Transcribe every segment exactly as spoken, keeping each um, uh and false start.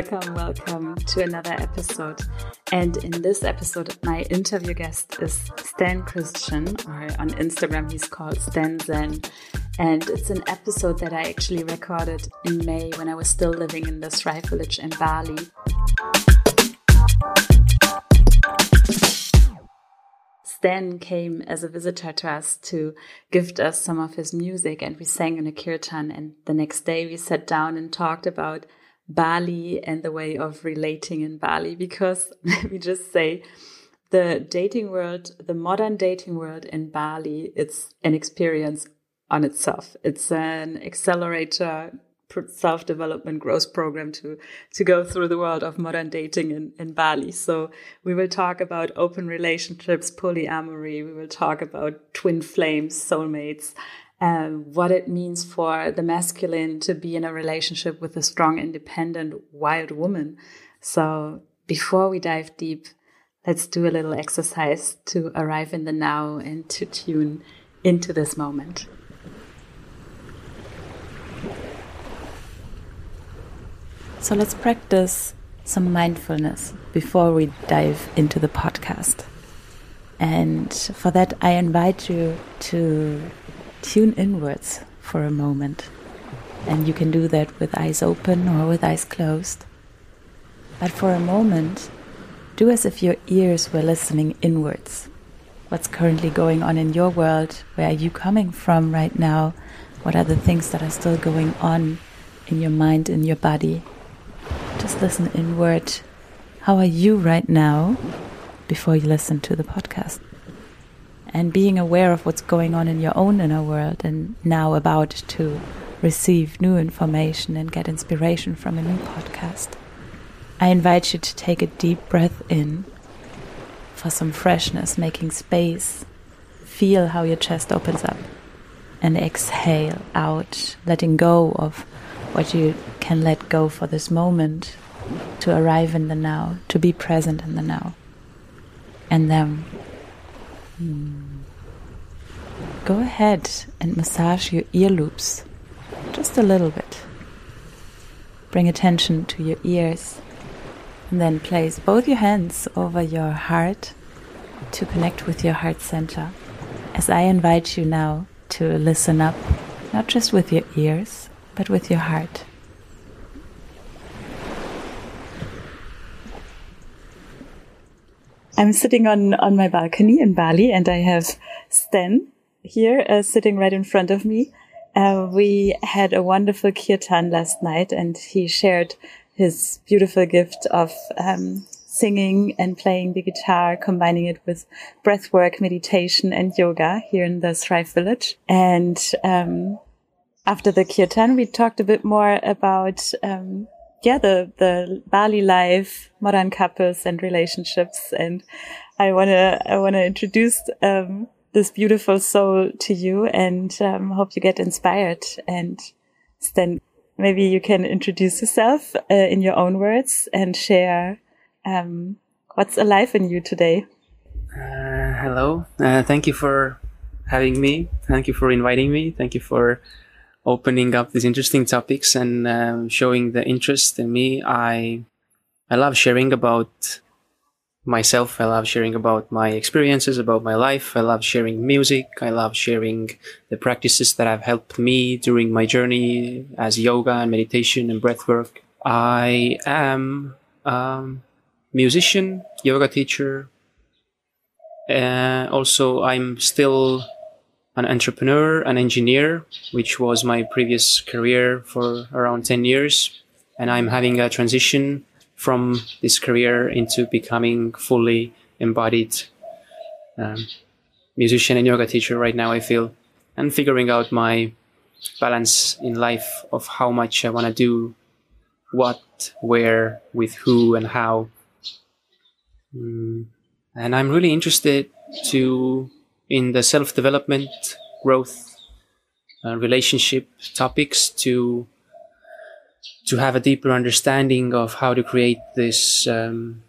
Welcome, welcome to another episode. And in this episode, my interview guest is Stan Christian, or on Instagram he's called Stan Zen. And it's an episode that I actually recorded in May when I was still living in the Thrive Village in Bali. Stan came as a visitor to us to gift us some of his music, and we sang in a kirtan. And the next day we sat down and talked about Bali and the way of relating in Bali, because let me just say, the dating world, the modern dating world in Bali, it's an experience on itself. It's an accelerator, self-development growth program to, to go through the world of modern dating in, in Bali. So we will talk about open relationships, polyamory. We will talk about twin flames, soulmates, um, what it means for the masculine to be in a relationship with a strong, independent, wild woman. So before we dive deep, let's do a little exercise to arrive in the now and to tune into this moment. So let's practice some mindfulness before we dive into the podcast. And for that, I invite you to tune inwards for a moment. And you can do that with eyes open or with eyes closed. But for a moment, do as if your ears were listening inwards. What's currently going on in your world? Where are you coming from right now? What are the things that are still going on in your mind, in your body? Just listen inward. How are you right now before you listen to the podcast? And being aware of what's going on in your own inner world and now about to receive new information and get inspiration from a new podcast. I invite you to take a deep breath in for some freshness, making space. Feel how your chest opens up. And exhale out, letting go of what you can let go for this moment, to arrive in the now, to be present in the now. And then hmm, go ahead and massage your ear loops just a little bit. Bring attention to your ears, and then place both your hands over your heart to connect with your heart center. As I invite you now to listen up, not just with your ears, but with your heart. I'm sitting on, on my balcony in Bali, and I have Stan here uh, sitting right in front of me. Uh, we had a wonderful kirtan last night, and he shared his beautiful gift of um, singing and playing the guitar, combining it with breathwork, meditation, and yoga here in the Thrive Village. And um, after the kirtan, we talked a bit more about um, yeah, the, the Bali life, modern couples and relationships. And I want to, I want to introduce, um, this beautiful soul to you, and, um, hope you get inspired. And Stan, maybe you can introduce yourself, uh, in your own words and share, um, what's alive in you today. Uh, hello. Uh, thank you for having me. Thank you for inviting me. Thank you for opening up these interesting topics and um, showing the interest in me. I I love sharing about myself. I love sharing about my experiences, about my life. I love sharing music. I love sharing the practices that have helped me during my journey as yoga and meditation and breathwork. I am a musician, yoga teacher. Uh, also, I'm still an entrepreneur, an engineer, which was my previous career for around ten years. And I'm having a transition from this career into becoming fully embodied um, musician and yoga teacher right now, I feel, and figuring out my balance in life of how much I want to do, what, where, with who, and how. Mm. And I'm really interested to in the self-development, growth, uh, relationship topics to to have a deeper understanding of how to create this um,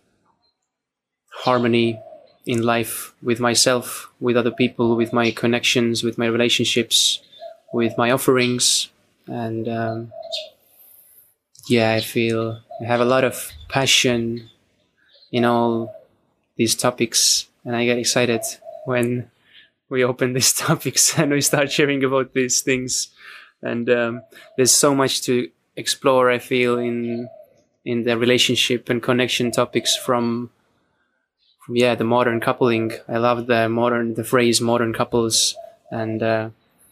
harmony in life with myself, with other people, with my connections, with my relationships, with my offerings. And um, yeah, I feel I have a lot of passion in all these topics, and I get excited when we open these topics and we start sharing about these things. And um, there's so much to explore, I feel, in in the relationship and connection topics from, from yeah, the modern coupling. I love the modern, the phrase modern couples, and uh,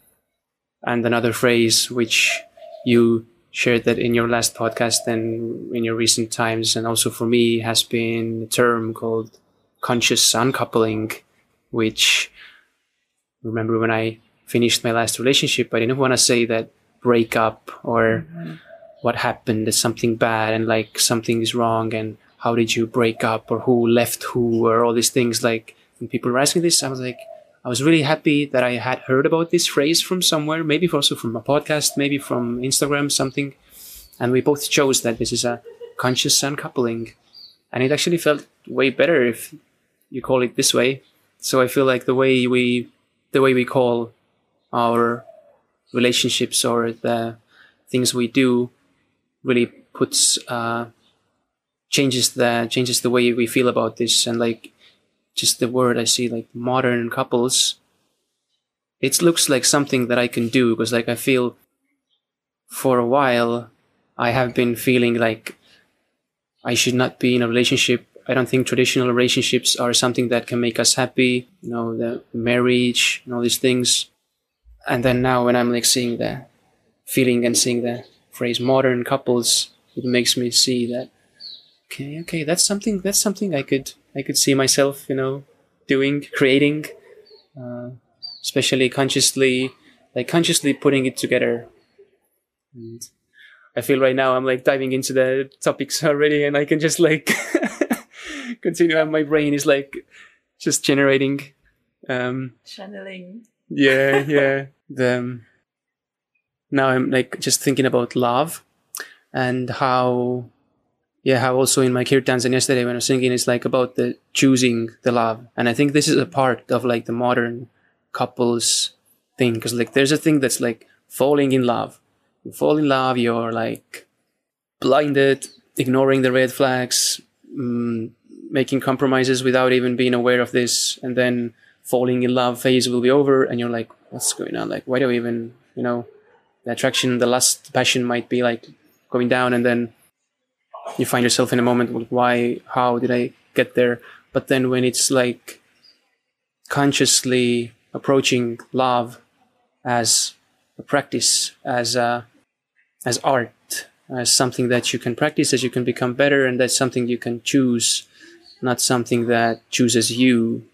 and another phrase which you shared that in your last podcast and in your recent times, and also for me has been a term called conscious uncoupling, which, remember when I finished my last relationship, I didn't want to say that break up or mm-hmm. what happened is something bad and like something is wrong and how did you break up or who left who or all these things. Like when people were asking this, I was like, I was really happy that I had heard about this phrase from somewhere, maybe also from a podcast, maybe from Instagram, something. And we both chose that this is a conscious uncoupling. And it actually felt way better if you call it this way. So I feel like the way we, the way we call our relationships or the things we do really puts, uh, changes the, changes the way we feel about this. And like, just the word I see, like modern couples, it looks like something that I can do, because like I feel for a while I have been feeling like I should not be in a relationship. I don't think traditional relationships are something that can make us happy, you know, the marriage and all these things. And then now when I'm like seeing the feeling and seeing the phrase modern couples, it makes me see that, okay, okay, that's something, that's something I could, I could see myself, you know, doing, creating, uh, especially consciously, like consciously putting it together. And I feel right now I'm like diving into the topics already, and I can just like continue, and my brain is like just generating, um, channeling. Yeah, yeah. The, um, now I'm like just thinking about love and how, yeah, how also in my kirtans and yesterday when I was singing, it's like about the choosing the love. And I think this is a part of like the modern couples thing, because like there's a thing that's like falling in love. You fall in love, you're like blinded, ignoring the red flags, um, making compromises without even being aware of this. And then falling in love phase will be over and you're like, what's going on? Like, why do I even, you know, the attraction, the lust, the passion might be like going down, and then you find yourself in a moment like, why, how did I get there? But then when it's like consciously approaching love as a practice, as a, as art, as something that you can practice, as you can become better, and that's something you can choose, not something that chooses you.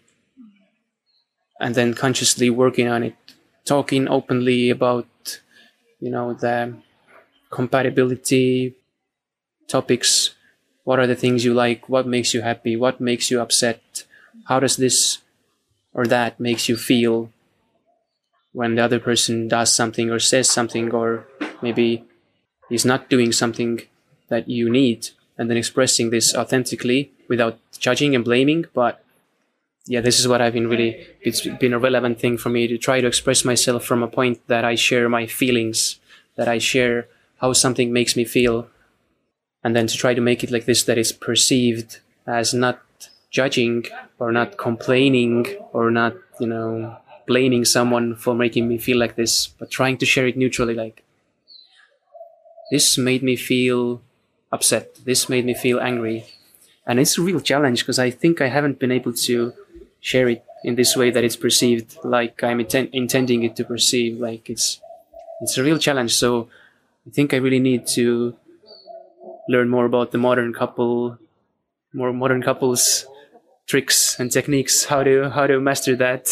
And then consciously working on it, talking openly about, you know, the compatibility topics. What are the things you like? What makes you happy? What makes you upset? How does this or that makes you feel when the other person does something or says something, or maybe is not doing something that you need, and then expressing this authentically without judging and blaming. But yeah, this is what I've been really, it's been a relevant thing for me to try to express myself from a point that I share my feelings, that I share how something makes me feel, and then to try to make it like this, that is perceived as not judging or not complaining or not, you know, blaming someone for making me feel like this, but trying to share it neutrally, like, this made me feel upset, this made me feel angry. And it's a real challenge, because I think I haven't been able to share it in this way that it's perceived like I'm inten- intending it to perceive. Like it's it's a real challenge. So I think I really need to learn more about the modern couple, more modern couples tricks and techniques, how to how to master that.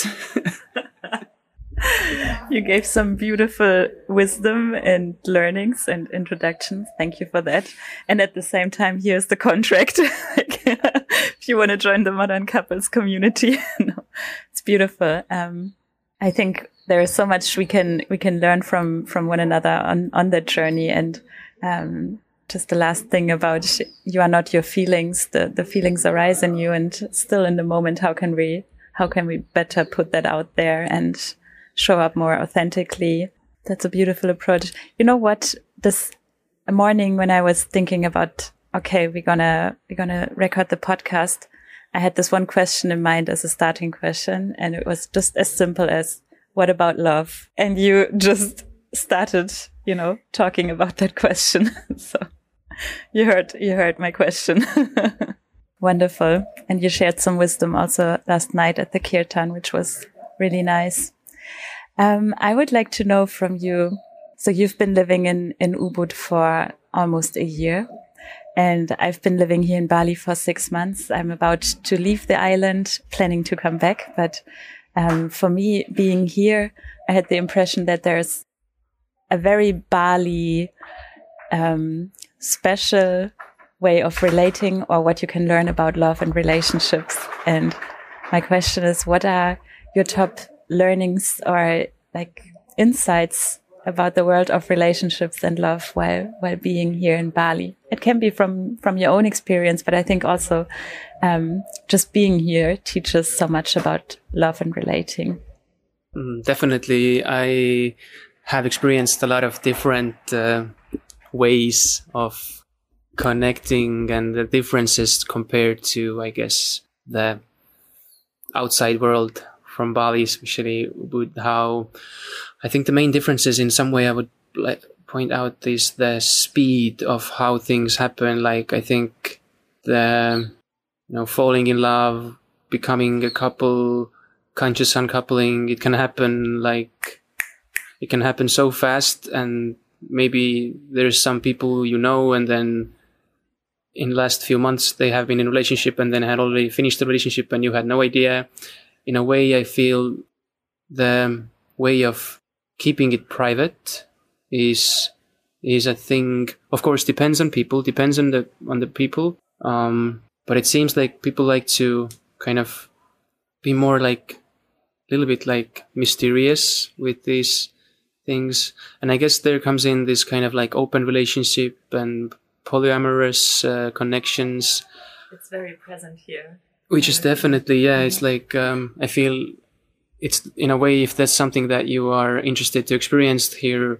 You gave some beautiful wisdom and learnings and introductions. Thank you for that. And at the same time, here's the contract. If you want to join the modern couples community, no, it's beautiful. Um, I think there is so much we can we can learn from from one another on on that journey. And um, just the last thing about you are not your feelings. The the feelings arise in you, and still in the moment, how can we how can we better put that out there and show up more authentically? That's a beautiful approach. You know what? This morning when I was thinking about okay, we're gonna we're gonna record the podcast, I had this one question in mind as a starting question, and it was just as simple as, what about love? And you just started, you know, talking about that question. So you heard, you heard my question. Wonderful. And you shared some wisdom also last night at the Kirtan, which was really nice. Um, I would like to know from you, so you've been living in, in Ubud for almost a year, and I've been living here in Bali for six months. I'm about to leave the island, planning to come back. But um, for me, being here, I had the impression that there's a very Bali um, special way of relating, or what you can learn about love and relationships. And my question is, what are your top learnings or like insights about the world of relationships and love while while being here in Bali? It can be from from your own experience, but I think also um, just being here teaches so much about love and relating. Mm, definitely, I have experienced a lot of different uh, ways of connecting, and the differences compared to, I guess, the outside world from Bali, especially with how I think the main differences in some way I would like point out is the speed of how things happen. Like, I think the, you know, falling in love, becoming a couple, conscious uncoupling, it can happen like, it can happen so fast. And maybe there's some people you know, and then in the last few months they have been in a relationship and then had already finished the relationship and you had no idea. In a way, I feel the way of keeping it private is is a thing. Of course, depends on people, depends on the on the people. Um, but it seems like people like to kind of be more like a little bit like mysterious with these things. And I guess there comes in this kind of like open relationship and polyamorous uh, connections. It's very present here. Which is definitely, yeah, it's like, um, I feel it's in a way, if that's something that you are interested to experience, here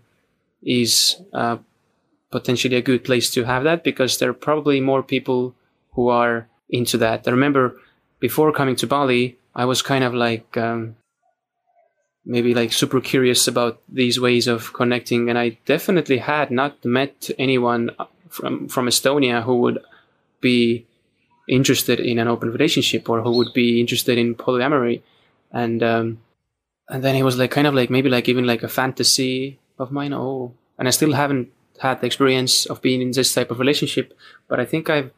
is uh, potentially a good place to have that, because there are probably more people who are into that. I remember before coming to Bali, I was kind of like, um, maybe like super curious about these ways of connecting. And I definitely had not met anyone from, from Estonia who would be interested in an open relationship or who would be interested in polyamory. And um and then it was like kind of like maybe like even like a fantasy of mine. Oh, and I still haven't had the experience of being in this type of relationship, but I think I've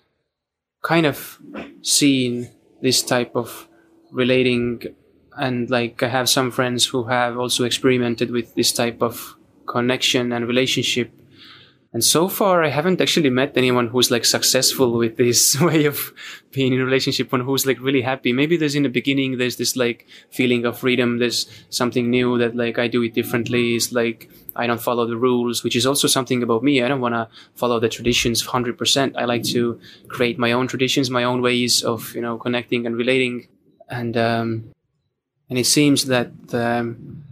kind of seen this type of relating, and like I have some friends who have also experimented with this type of connection and relationship. And so far, I haven't actually met anyone who's like successful with this way of being in a relationship, one who's like really happy. Maybe there's in the beginning, there's this like feeling of freedom. There's something new that like I do it differently. It's like I don't follow the rules, which is also something about me. I don't want to follow the traditions one hundred percent. I like to create my own traditions, my own ways of, you know, connecting and relating. And, um, and it seems that um,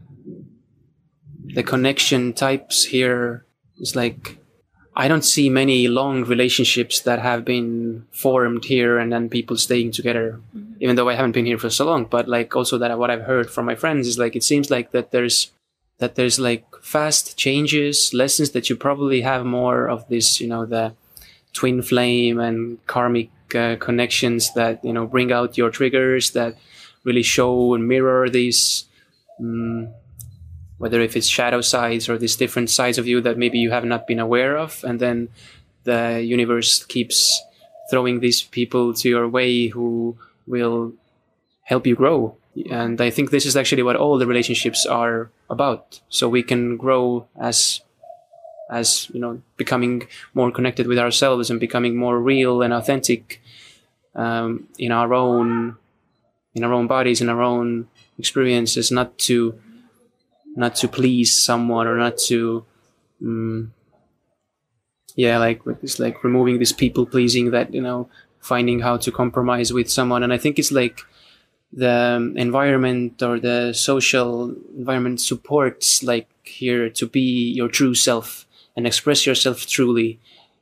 the connection types here is like, I don't see many long relationships that have been formed here and then people staying together, mm-hmm. even though I haven't been here for so long. But like also that what I've heard from my friends is like, it seems like that there's, that there's like fast changes, lessons that you probably have more of this, you know, the twin flame and karmic uh, connections that, you know, bring out your triggers, that really show and mirror these, um, whether if it's shadow sides or these different sides of you that maybe you have not been aware of. And then the universe keeps throwing these people to your way who will help you grow. And I think this is actually what all the relationships are about. So we can grow as, as, you know, becoming more connected with ourselves and becoming more real and authentic, um, in our own, in our own bodies, in our own experiences, not to, not to please someone or not to, um, yeah, like it's like removing this people pleasing, that, you know, finding how to compromise with someone. And I think it's like the environment or the social environment supports like here to be your true self and express yourself truly.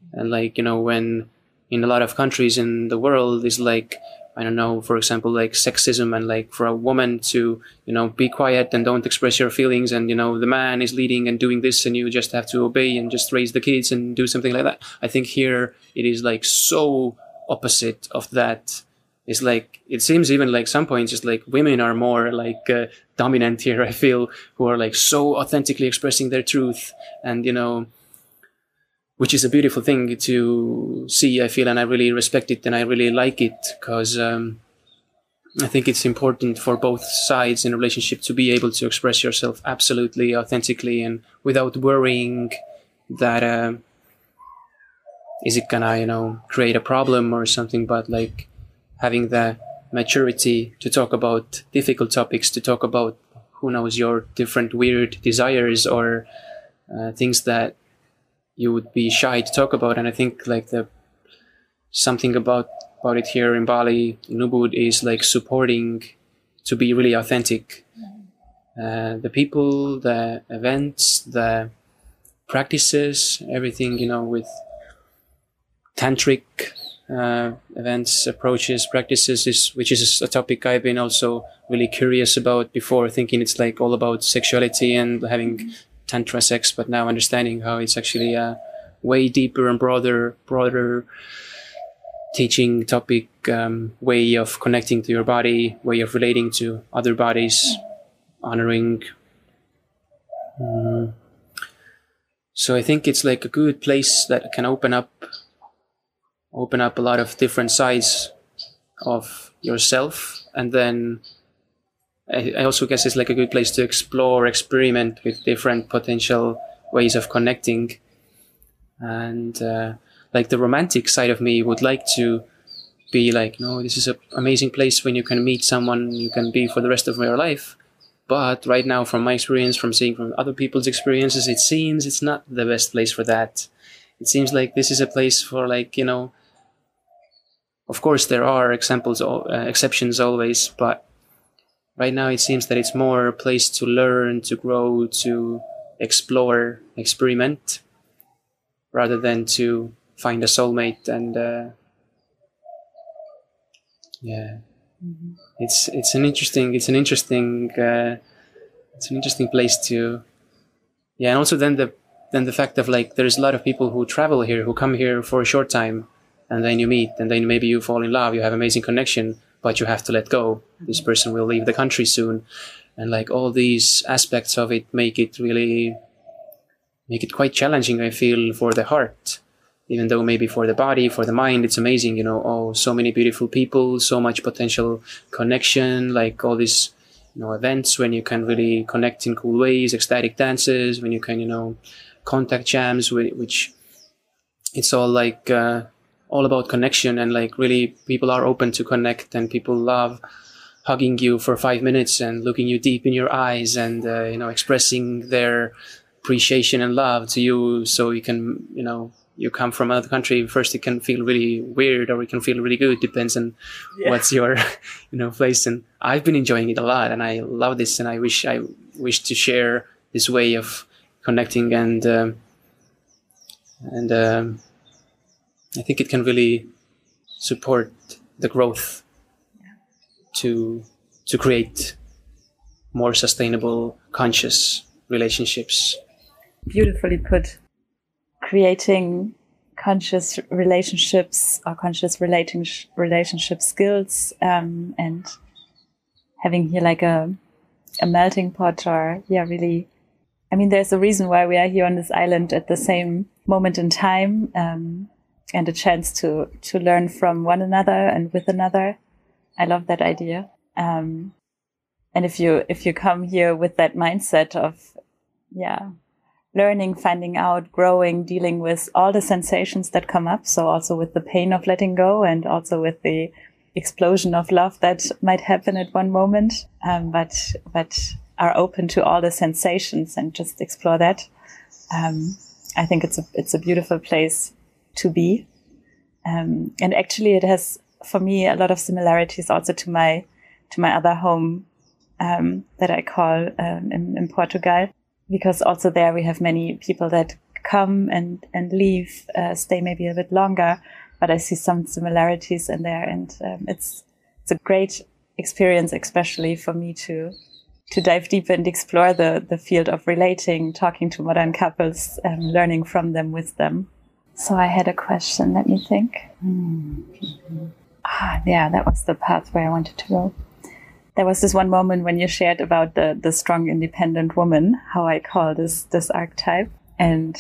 And like, you know, when in a lot of countries in the world is like, I don't know, for example, like sexism, and like for a woman to, you know, be quiet and don't express your feelings, and, you know, the man is leading and doing this and you just have to obey and just raise the kids and do something like that. I think here it is like so opposite of that. It's like, it seems even like some points just like women are more like uh, dominant here, I feel, who are like so authentically expressing their truth, and, you know, which is a beautiful thing to see, I feel, and I really respect it and I really like it, because um, I think it's important for both sides in a relationship to be able to express yourself absolutely authentically and without worrying that uh, is it gonna, you know, create a problem or something, but like having the maturity to talk about difficult topics, to talk about, who knows, your different weird desires or uh, things that you would be shy to talk about. And I think like the something about about it here in Bali, in Ubud, is like supporting to be really authentic. Uh, the people, the events, the practices, everything, you know, with tantric uh, events, approaches, practices, is which is a topic I've been also really curious about before, thinking it's like all about sexuality and having tantra sex, but now understanding how it's actually a way deeper and broader, broader teaching topic, um, way of connecting to your body, way of relating to other bodies, honoring. Mm. So I think it's like a good place that can open up, open up a lot of different sides of yourself, and then I also guess it's like a good place to explore, experiment with different potential ways of connecting. And uh, like the romantic side of me would like to be like, no, this is an amazing place when you can meet someone you can be for the rest of your life. But right now, from my experience, from seeing from other people's experiences, it seems it's not the best place for that. It seems like this is a place for like, you know, of course there are examples, uh, exceptions always, but right now it seems that it's more a place to learn, to grow, to explore, experiment, rather than to find a soulmate. And uh, yeah, mm-hmm. it's it's an interesting it's an interesting uh, it's an interesting place to yeah. And also then the then the fact of like there's a lot of people who travel here, who come here for a short time, and then you meet, and then maybe you fall in love, you have amazing connection, but you have to let go. This person will leave the country soon. And like all these aspects of it make it really, make it quite challenging, I feel, for the heart. Even though maybe for the body, for the mind, it's amazing, you know, oh, so many beautiful people, so much potential connection, like all these, you know, events when you can really connect in cool ways, ecstatic dances, when you can, you know, contact jams, which it's all like, uh, all about connection, and like really people are open to connect, and people love hugging you for five minutes and looking you deep in your eyes, and uh, you know, expressing their appreciation and love to you. So you can, you know, you come from another country, first it can feel really weird or it can feel really good, depends on yeah. what's your, you know, place. And I've been enjoying it a lot, and I love this, and I wish I wish to share this way of connecting, and um, and um, I think it can really support the growth to to create more sustainable, conscious relationships. Beautifully put. Creating conscious relationships or conscious relating relationship skills, um, and having here like a a melting pot, or yeah, really. I mean, there's a reason why we are here on this island at the same moment in time. Um, and a chance to, to learn from one another and with another. I love that idea. Um, and if you, if you come here with that mindset of, yeah, learning, finding out, growing, dealing with all the sensations that come up. So also with the pain of letting go, and also with the explosion of love that might happen at one moment. Um, but, but are open to all the sensations and just explore that. Um, I think it's a, it's a beautiful place to be. Um, and actually it has, for me, a lot of similarities also to my, to my other home, um, that I call, um, in, in Portugal, because also there we have many people that come and, and leave, uh, stay maybe a bit longer, but I see some similarities in there. And um, it's it's a great experience, especially for me to to dive deep and explore the, the field of relating, talking to modern couples, um, learning from them, with them. So I had a question. Let me think. Mm-hmm. Ah, yeah, that was the path where I wanted to go. There was this one moment when you shared about the, the strong, independent woman, how I call this this archetype. And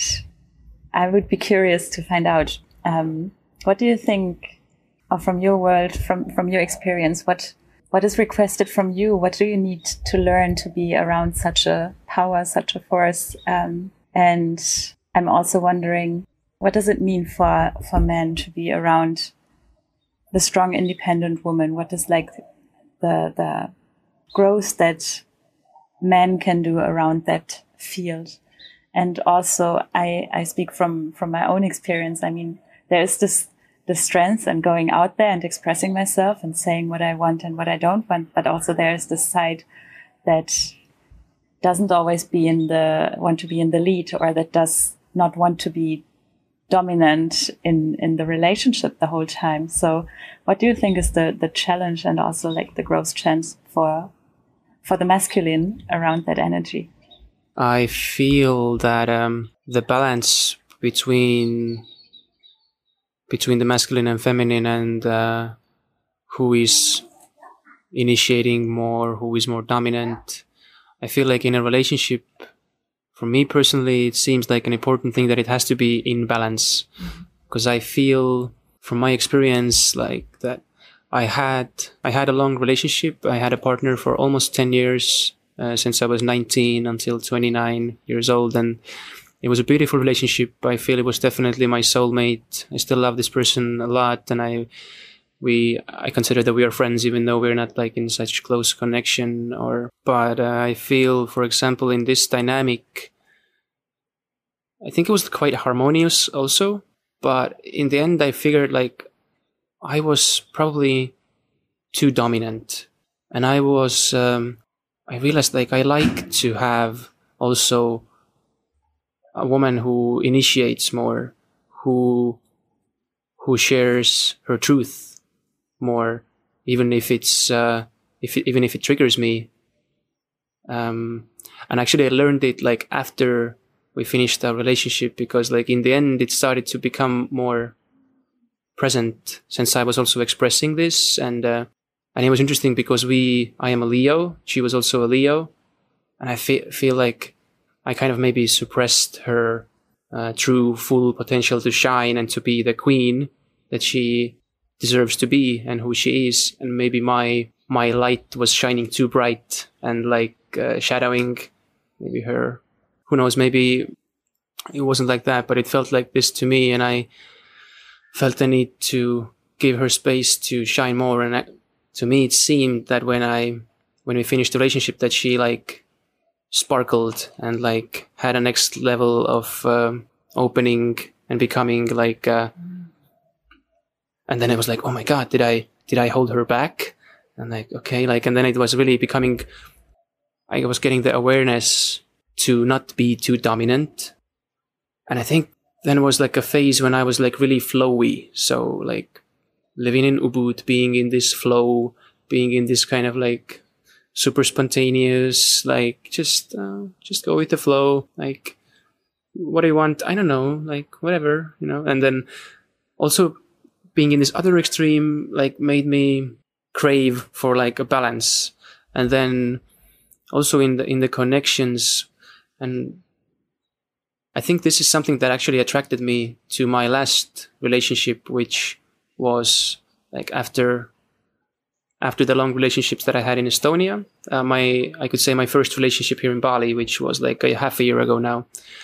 I would be curious to find out, um, what do you think, or from your world, from, from your experience, what what is requested from you? What do you need to learn to be around such a power, such a force? Um, and I'm also wondering, what does it mean for, for men to be around the strong, independent woman? What is like the the growth that men can do around that field? And also, I, I speak from, from my own experience. I mean, there is this the strength and going out there and expressing myself and saying what I want and what I don't want. But also there is this side that doesn't always be in the, want to be in the lead, or that does not want to be dominant in, in the relationship the whole time. So what do you think is the, the challenge and also like the growth chance for, for the masculine around that energy? I feel that um, the balance between between the masculine and feminine, and uh, who is initiating more, who is more dominant. I feel like in a relationship, for me personally, it seems like an important thing that it has to be in balance. Because mm-hmm. I feel, from my experience, like that I had I had a long relationship. I had a partner for almost ten years, uh, since I was nineteen until twenty-nine years old, and it was a beautiful relationship. I feel it was definitely my soulmate. I still love this person a lot, and I we I consider that we are friends, even though we're not like in such close connection. Or but uh, I feel, for example, in this dynamic, I think it was quite harmonious also. But in the end, I figured like I was probably too dominant, and I was um, I realized like I like to have also a woman who initiates more, who who shares her truth more, even if it's uh, if it, even if it triggers me. Um, and actually, I learned it like after we finished our relationship, because like in the end, it started to become more present, since I was also expressing this, and uh, and it was interesting because we I am a Leo, she was also a Leo, and I fe- feel like I kind of maybe suppressed her uh, true full potential to shine and to be the queen that she deserves to be and who she is. And maybe my my light was shining too bright and like uh, shadowing maybe her. Who knows, maybe it wasn't like that, but it felt like this to me, and I felt the need to give her space to shine more. And I, to me, it seemed that when I when we finished the relationship, that she like sparkled and like had a next level of um, opening and becoming like uh, and then it was like, oh my god, did I did I hold her back? And like, okay, like, and then it was really becoming, I was getting the awareness to not be too dominant. And I think then was like a phase when I was like really flowy, so like living in Ubud, being in this flow, being in this kind of like super spontaneous, like just uh, just go with the flow, like what do you want? I don't know, like whatever, you know. And then also being in this other extreme like made me crave for like a balance. And then also in the in the connections, and I think this is something that actually attracted me to my last relationship, which was like after After the long relationships that I had in Estonia, uh, my I could say my first relationship here in Bali, which was like a half a year ago now.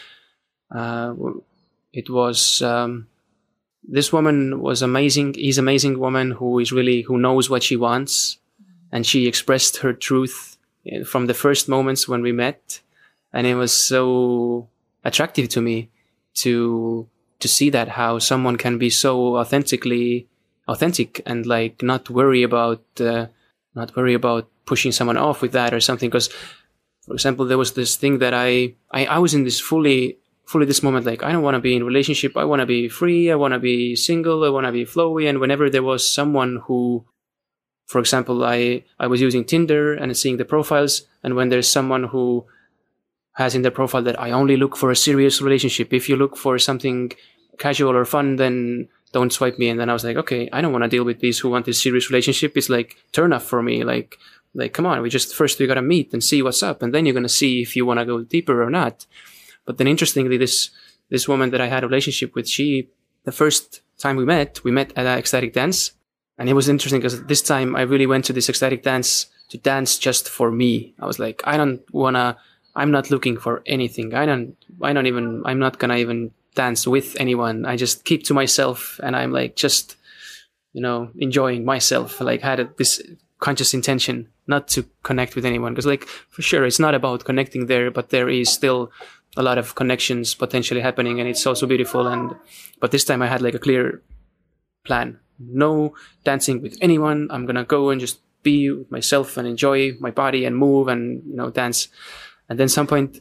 Uh, it was um, this woman was amazing. He's an amazing woman who is really who knows what she wants, and she expressed her truth from the first moments when we met, and it was so attractive to me to to see that, how someone can be so authentically. authentic and like not worry about uh, not worry about pushing someone off with that or something. Because for example, there was this thing that I, I I was in this fully fully this moment, like, I don't want to be in a relationship. I want to be free. I want to be single. I want to be flowy. And whenever there was someone who, for example, I, I was using Tinder and seeing the profiles. And when there's someone who has in their profile that I only look for a serious relationship. If you look for something casual or fun, then don't swipe me. And then I was like, okay, I don't want to deal with these who want this serious relationship. It's like turn off for me. Like, like, come on, we just, first we got to meet and see what's up. And then you're going to see if you want to go deeper or not. But then interestingly, this, this woman that I had a relationship with, she, the first time we met, we met at an ecstatic dance. And it was interesting because this time I really went to this ecstatic dance to dance just for me. I was like, I don't want to, I'm not looking for anything. I don't, I don't even, I'm not going to even dance with anyone. I just keep to myself and I'm like, just, you know, enjoying myself. Like had a, this conscious intention not to connect with anyone. Because like, for sure, it's not about connecting there, but there is still a lot of connections potentially happening and it's also beautiful. And, but this time I had like a clear plan. No dancing with anyone. I'm going to go and just be with myself and enjoy my body and move and, you know, dance. And then some point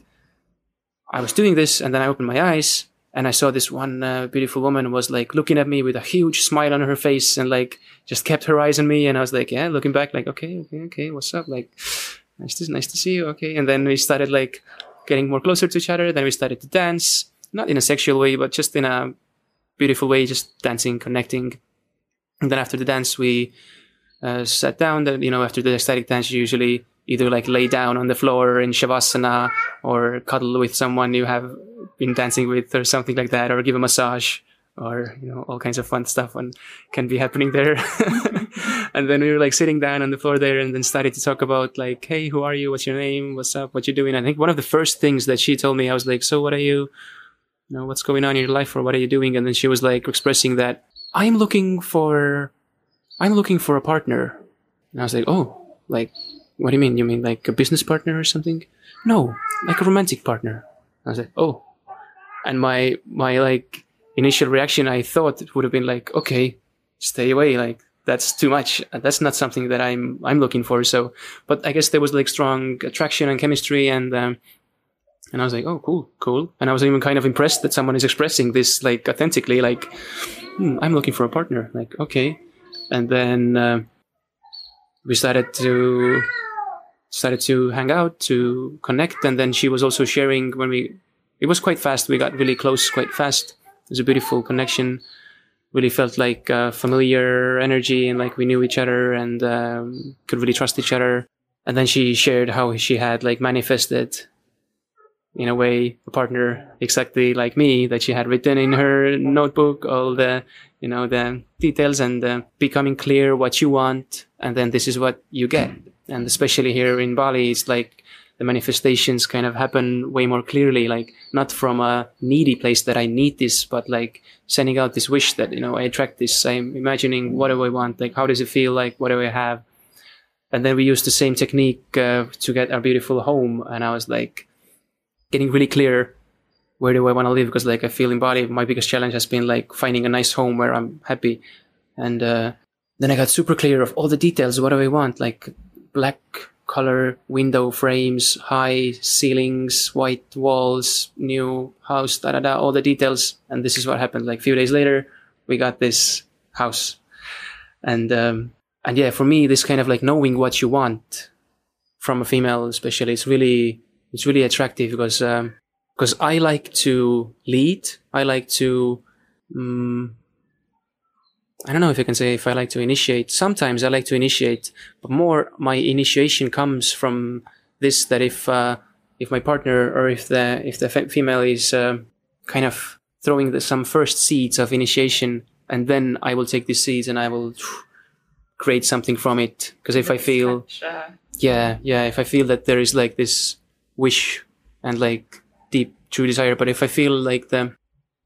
I was doing this and then I opened my eyes and I saw this one uh, beautiful woman was like looking at me with a huge smile on her face and like just kept her eyes on me. And I was like, yeah, looking back like, okay, okay, okay, what's up? Like, nice to, nice to see you. Okay. And then we started like getting more closer to each other. Then we started to dance, not in a sexual way, but just in a beautiful way, just dancing, connecting. And then after the dance, we uh, sat down. Then, you know, after the ecstatic dance, you usually either like lay down on the floor in Shavasana or cuddle with someone you have been dancing with or something like that, or give a massage or, you know, all kinds of fun stuff and can be happening there. And then we were like sitting down on the floor there and then started to talk about like, hey, who are you? What's your name? What's up? What you doing? I think one of the first things that she told me, I was like, so what are you, you know, what's going on in your life or what are you doing? And then she was like expressing that I'm looking for, I'm looking for a partner. And I was like, oh, like, what do you mean? You mean like a business partner or something? No, like a romantic partner. I was like, oh. And my, my like initial reaction, I thought it would have been like, okay, stay away. Like that's too much. That's not something that I'm, I'm looking for. So, but I guess there was like strong attraction and chemistry and, um, and I was like, oh, cool, cool. And I was even kind of impressed that someone is expressing this like authentically, like, hmm, I'm looking for a partner. Like, okay. And then, uh, we started to, started to hang out, to connect. And then she was also sharing when we, it was quite fast. We got really close quite fast. It was a beautiful connection. Really felt like uh, familiar energy and like we knew each other and um, could really trust each other. And then she shared how she had like manifested in a way a partner exactly like me, that she had written in her notebook all the, you know, the details and uh, becoming clear what you want. And then this is what you get. And especially here in Bali, it's like the manifestations kind of happen way more clearly, like not from a needy place that I need this, but like sending out this wish that, you know, I attract this. I'm imagining what do I want? Like, how does it feel like? What do I have? And then we used the same technique uh, to get our beautiful home. And I was like getting really clear. Where do I want to live? Because like I feel in Bali, my biggest challenge has been like finding a nice home where I'm happy. And uh, then I got super clear of all the details. What do I want? Like black color window frames, high ceilings, white walls, new house, da da da, all the details. And this is what happened. Like a few days later, we got this house. And um, and yeah, for me, this kind of like knowing what you want from a female, especially, it's really it's really attractive because um, because I like to lead. I like to. Um, I don't know if I can say if I like to initiate. Sometimes I like to initiate, but more my initiation comes from this, that if uh, if my partner or if the if the fe- female is uh, kind of throwing the, some first seeds of initiation, and then I will take these seeds and I will phew, create something from it. Because if I feel, yeah, yeah, if I feel that there is like this wish and like deep true desire, but if I feel like the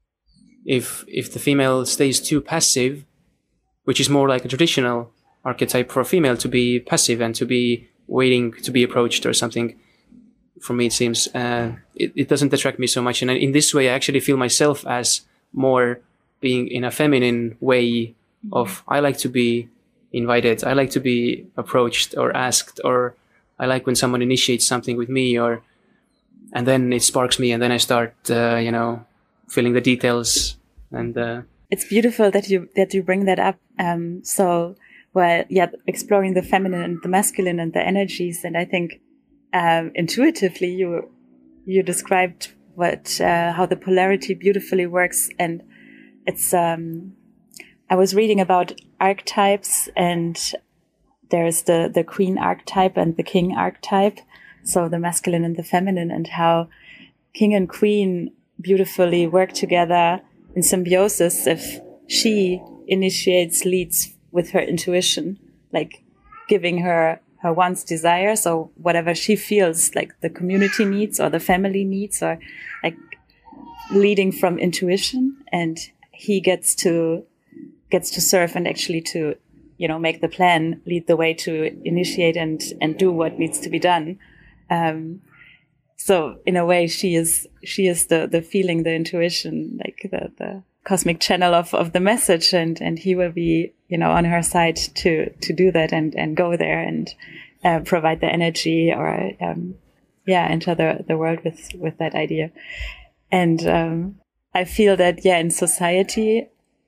if if the female stays too passive, which is more like a traditional archetype for a female to be passive and to be waiting to be approached or something. For me, it seems uh, it, it doesn't attract me so much. And in this way, I actually feel myself as more being in a feminine way of, I like to be invited. I like to be approached or asked, or I like when someone initiates something with me, or and then it sparks me, and then I start, uh, you know, filling the details. And uh, it's beautiful that you that you bring that up. Um, so, well, yeah, exploring the feminine and the masculine and the energies, and I think um, intuitively you you described what uh, how the polarity beautifully works, and it's. Um, I was reading about archetypes, and there's the the queen archetype and the king archetype. So the masculine and the feminine, and how king and queen beautifully work together in symbiosis if she initiates, leads with her intuition, like giving her her wants, desires, or whatever she feels like the community needs or the family needs, or like leading from intuition, and he gets to gets to serve and actually to, you know, make the plan, lead the way to initiate and and do what needs to be done. Um, so in a way, she is she is the the feeling, the intuition, like the the cosmic channel of of the message, and and he will be, you know, on her side to to do that and and go there and uh, provide the energy, or um, yeah, enter the the world with with that idea. And um, I feel that yeah, in society,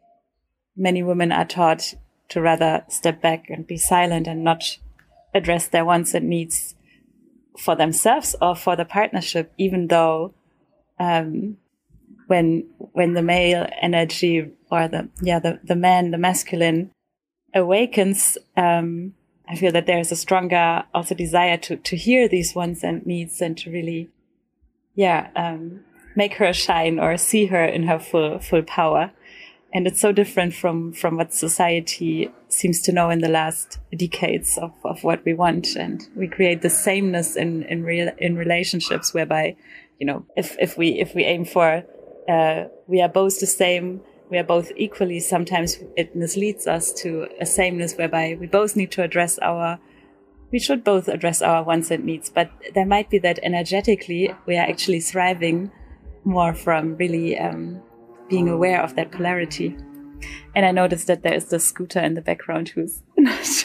many women are taught to rather step back and be silent and not address their wants and needs for themselves or for the partnership, even though um, when when the male energy or the yeah the, the man, the masculine awakens, um, I feel that there is a stronger also desire to to hear these wants and needs and to really yeah um, make her shine or see her in her full full power. And it's so different from, from what society seems to know in the last decades of, of what we want. And we create the sameness in, in real, in relationships whereby, you know, if, if we, if we aim for, uh, we are both the same, we are both equally, sometimes it misleads us to a sameness whereby we both need to address our, we should both address our wants and needs. But there might be that energetically we are actually thriving more from really, um, being aware of that polarity. And I noticed that there is the scooter in the background who's not,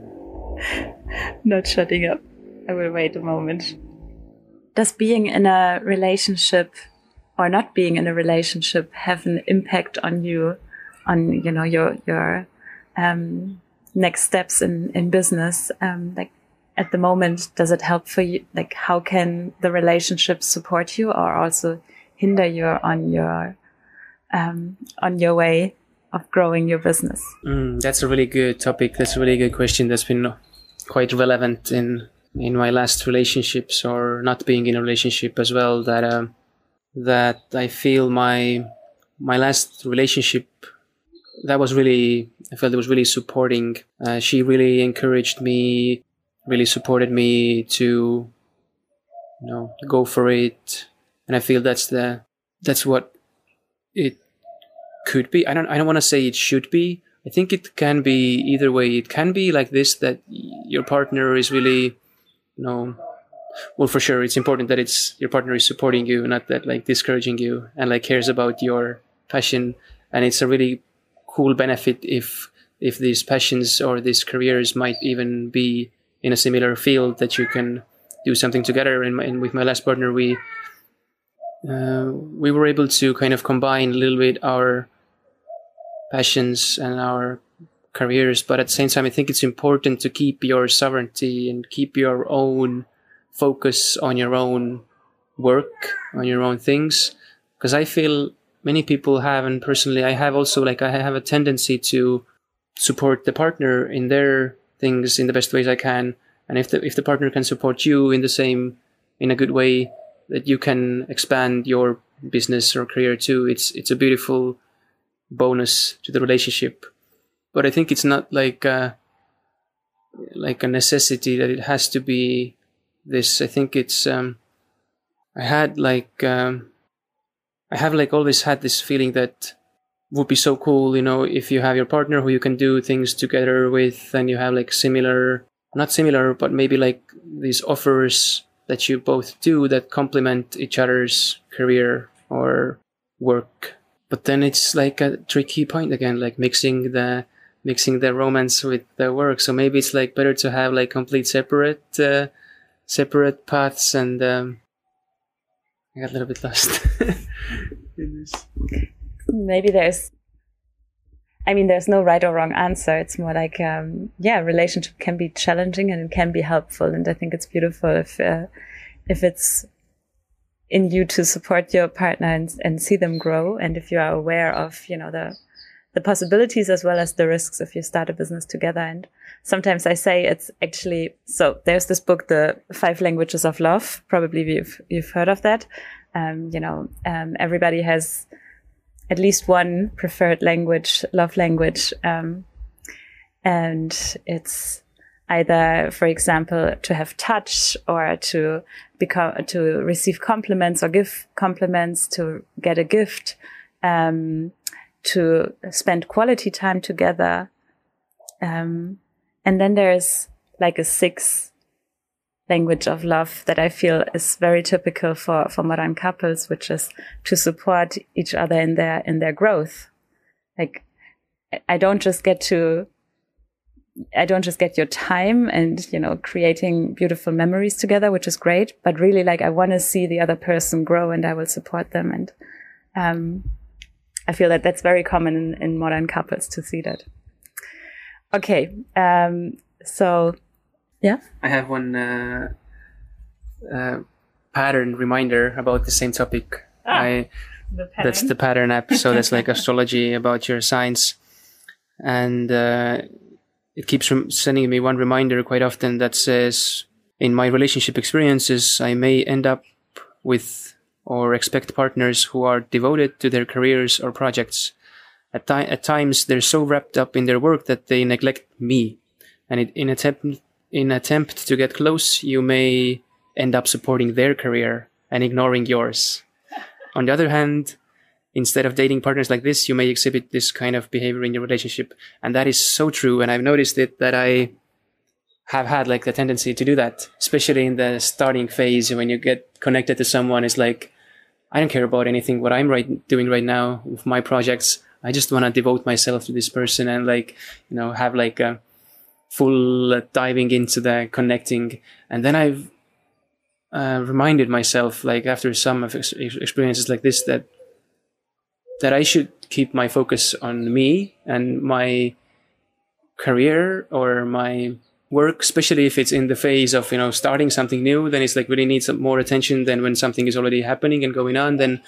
not shutting up. I will wait a moment. Does being in a relationship or not being in a relationship have an impact on you, on, you know, your, your, um, next steps in, in business? Um, like at the moment, does it help for you? Like how can the relationship support you or also hinder you on your Um, on your way of growing your business? Mm, that's a really good topic. That's a really good question. That's been quite relevant in in my last relationships, or not being in a relationship as well. That um, that I feel my my last relationship, that was really, I felt it was really supporting. Uh, she really encouraged me, really supported me to, you know, go for it. And I feel that's the that's what it could be. I don't I don't want to say it should be. I think it can be either way. It can be like this, that your partner is really, you know, well, for sure it's important that it's your partner is supporting you, not that like discouraging you, and like cares about your passion. And it's a really cool benefit if if these passions or these careers might even be in a similar field, that you can do something together. And, and with my last partner, we Uh, we were able to kind of combine a little bit our passions and our careers, but at the same time, I think it's important to keep your sovereignty and keep your own focus on your own work, on your own things. Because I feel many people have, and personally, I have also, like, I have a tendency to support the partner in their things in the best ways I can. And if the, if the partner can support you in the same, in a good way, that you can expand your business or career too, it's it's a beautiful bonus to the relationship. But I think it's not like a, like a necessity that it has to be this. I think it's um, I had like um, I have like always had this feeling that would be so cool, you know, if you have your partner who you can do things together with, and you have like similar, not similar, but maybe like these offers that you both do that complement each other's career or work. But then it's like a tricky point again, like mixing the mixing the romance with the work. So maybe it's like better to have like complete separate uh, separate paths. And um, I got a little bit lost. Maybe there's, I mean, there's no right or wrong answer. It's more like, um, yeah, relationship can be challenging and it can be helpful. And I think it's beautiful if, uh, if it's in you to support your partner and, and see them grow. And if you are aware of, you know, the, the possibilities as well as the risks if you start a business together. And sometimes I say it's actually, so there's this book, The Five Languages of Love. Probably you've, you've heard of that. Um, you know, um, everybody has at least one preferred language, love language. Um, and it's either, for example, to have touch or to become, to receive compliments or give compliments, to get a gift, um, to spend quality time together. Um, and then there's like a sixth language of love that I feel is very typical for, for modern couples, which is to support each other in their, in their growth. Like, I don't just get to, I don't just get your time and, you know, creating beautiful memories together, which is great, but really like I want to see the other person grow and I will support them. And, um, I feel that that's very common in, in modern couples to see that. Okay. Um, so, yeah. I have one uh, uh, pattern reminder about the same topic. Ah, I, the that's the pattern app. So that's like astrology about your signs. And uh, it keeps rem- sending me one reminder quite often that says, in my relationship experiences, I may end up with or expect partners who are devoted to their careers or projects. At, ti- at times, they're so wrapped up in their work that they neglect me. And it, in attempt in attempt to get close, you may end up supporting their career and ignoring yours. On the other hand, instead of dating partners like this, you may exhibit this kind of behavior in your relationship. And that is so true. And I've noticed it that I have had like the tendency to do that, especially in the starting phase when you get connected to someone. It's like, I don't care about anything what I'm right doing right now with my projects. I just want to devote myself to this person and like, you know, have like a full uh, diving into the connecting. And then I've uh, reminded myself, like after some of ex- experiences like this, that that I should keep my focus on me and my career or my work, especially if it's in the phase of, you know, starting something new. Then it's like really needs some more attention than when something is already happening and going on. Then,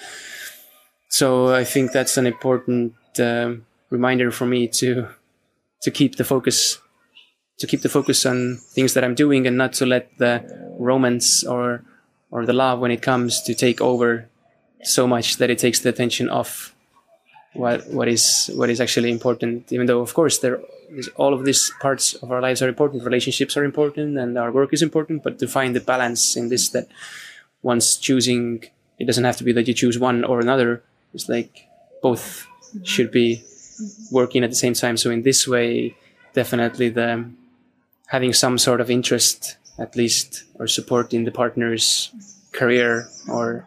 so I think that's an important uh, reminder for me to to keep the focus, to keep the focus on things that I'm doing and not to let the romance or or the love when it comes to take over so much that it takes the attention off what what is what is actually important. Even though, of course, there is all of these parts of our lives are important. Relationships are important, and our work is important. But to find the balance in this, that once choosing, it doesn't have to be that you choose one or another. It's like both mm-hmm. should be working at the same time. So in this way, definitely the having some sort of interest, at least, or support in the partner's career, or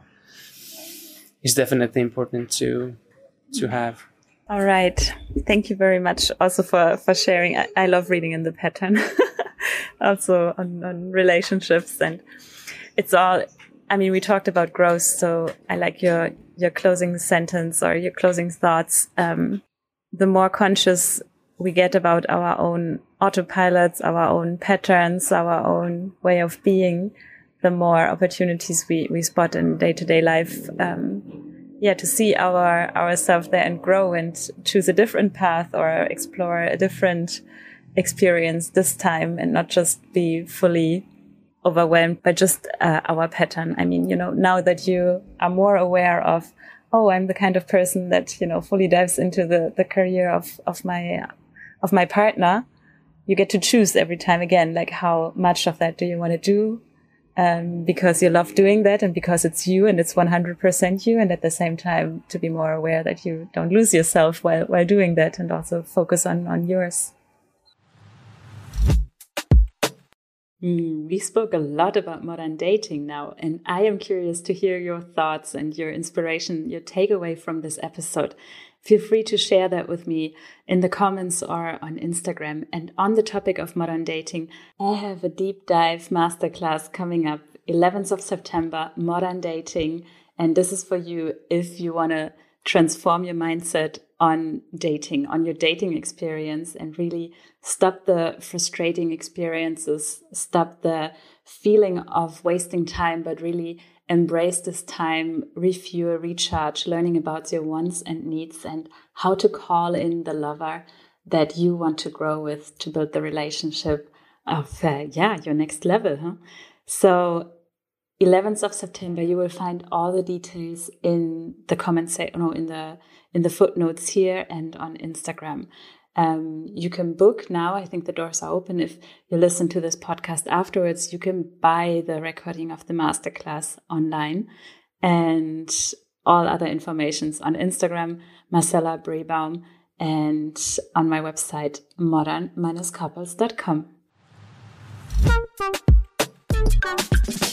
is definitely important to. to have. All right. Thank you very much also for, for sharing. I, I love reading in the pattern also on, on relationships, and it's all, I mean, we talked about growth. So I like your, your closing sentence or your closing thoughts. Um, the more conscious we get about our own autopilots, our own patterns, our own way of being, the more opportunities we, we spot in day-to-day life. Um, Yeah, to see our ourselves there and grow and choose a different path or explore a different experience this time and not just be fully overwhelmed by just uh, our pattern. I mean, you know, now that you are more aware of, oh, I'm the kind of person that, you know, fully dives into the, the career of, of my, of my partner, you get to choose every time again, like how much of that do you want to do? Um, because you love doing that and because it's you and it's one hundred percent you, and at the same time to be more aware that you don't lose yourself while, while doing that, and also focus on, on yours. Mm, we spoke a lot about modern dating now, and I am curious to hear your thoughts and your inspiration, your takeaway from this episode. Feel free to share that with me in the comments or on Instagram. And on the topic of modern dating, I have a deep dive masterclass coming up, eleventh of September, Modern Dating. And this is for you if you want to transform your mindset on dating, on your dating experience, and really stop the frustrating experiences, stop the feeling of wasting time, but really embrace this time, refuel, recharge, learning about your wants and needs and how to call in the lover that you want to grow with to build the relationship of, uh, yeah, your next level. Huh? So eleventh of September, you will find all the details in the comments, say, no, in the in the footnotes here and on Instagram. Um, you can book now. I think the doors are open. If you listen to this podcast afterwards, you can buy the recording of the masterclass online, and all other informations on Instagram, Marcella Brebaum, and on my website, modern dash couples dot com.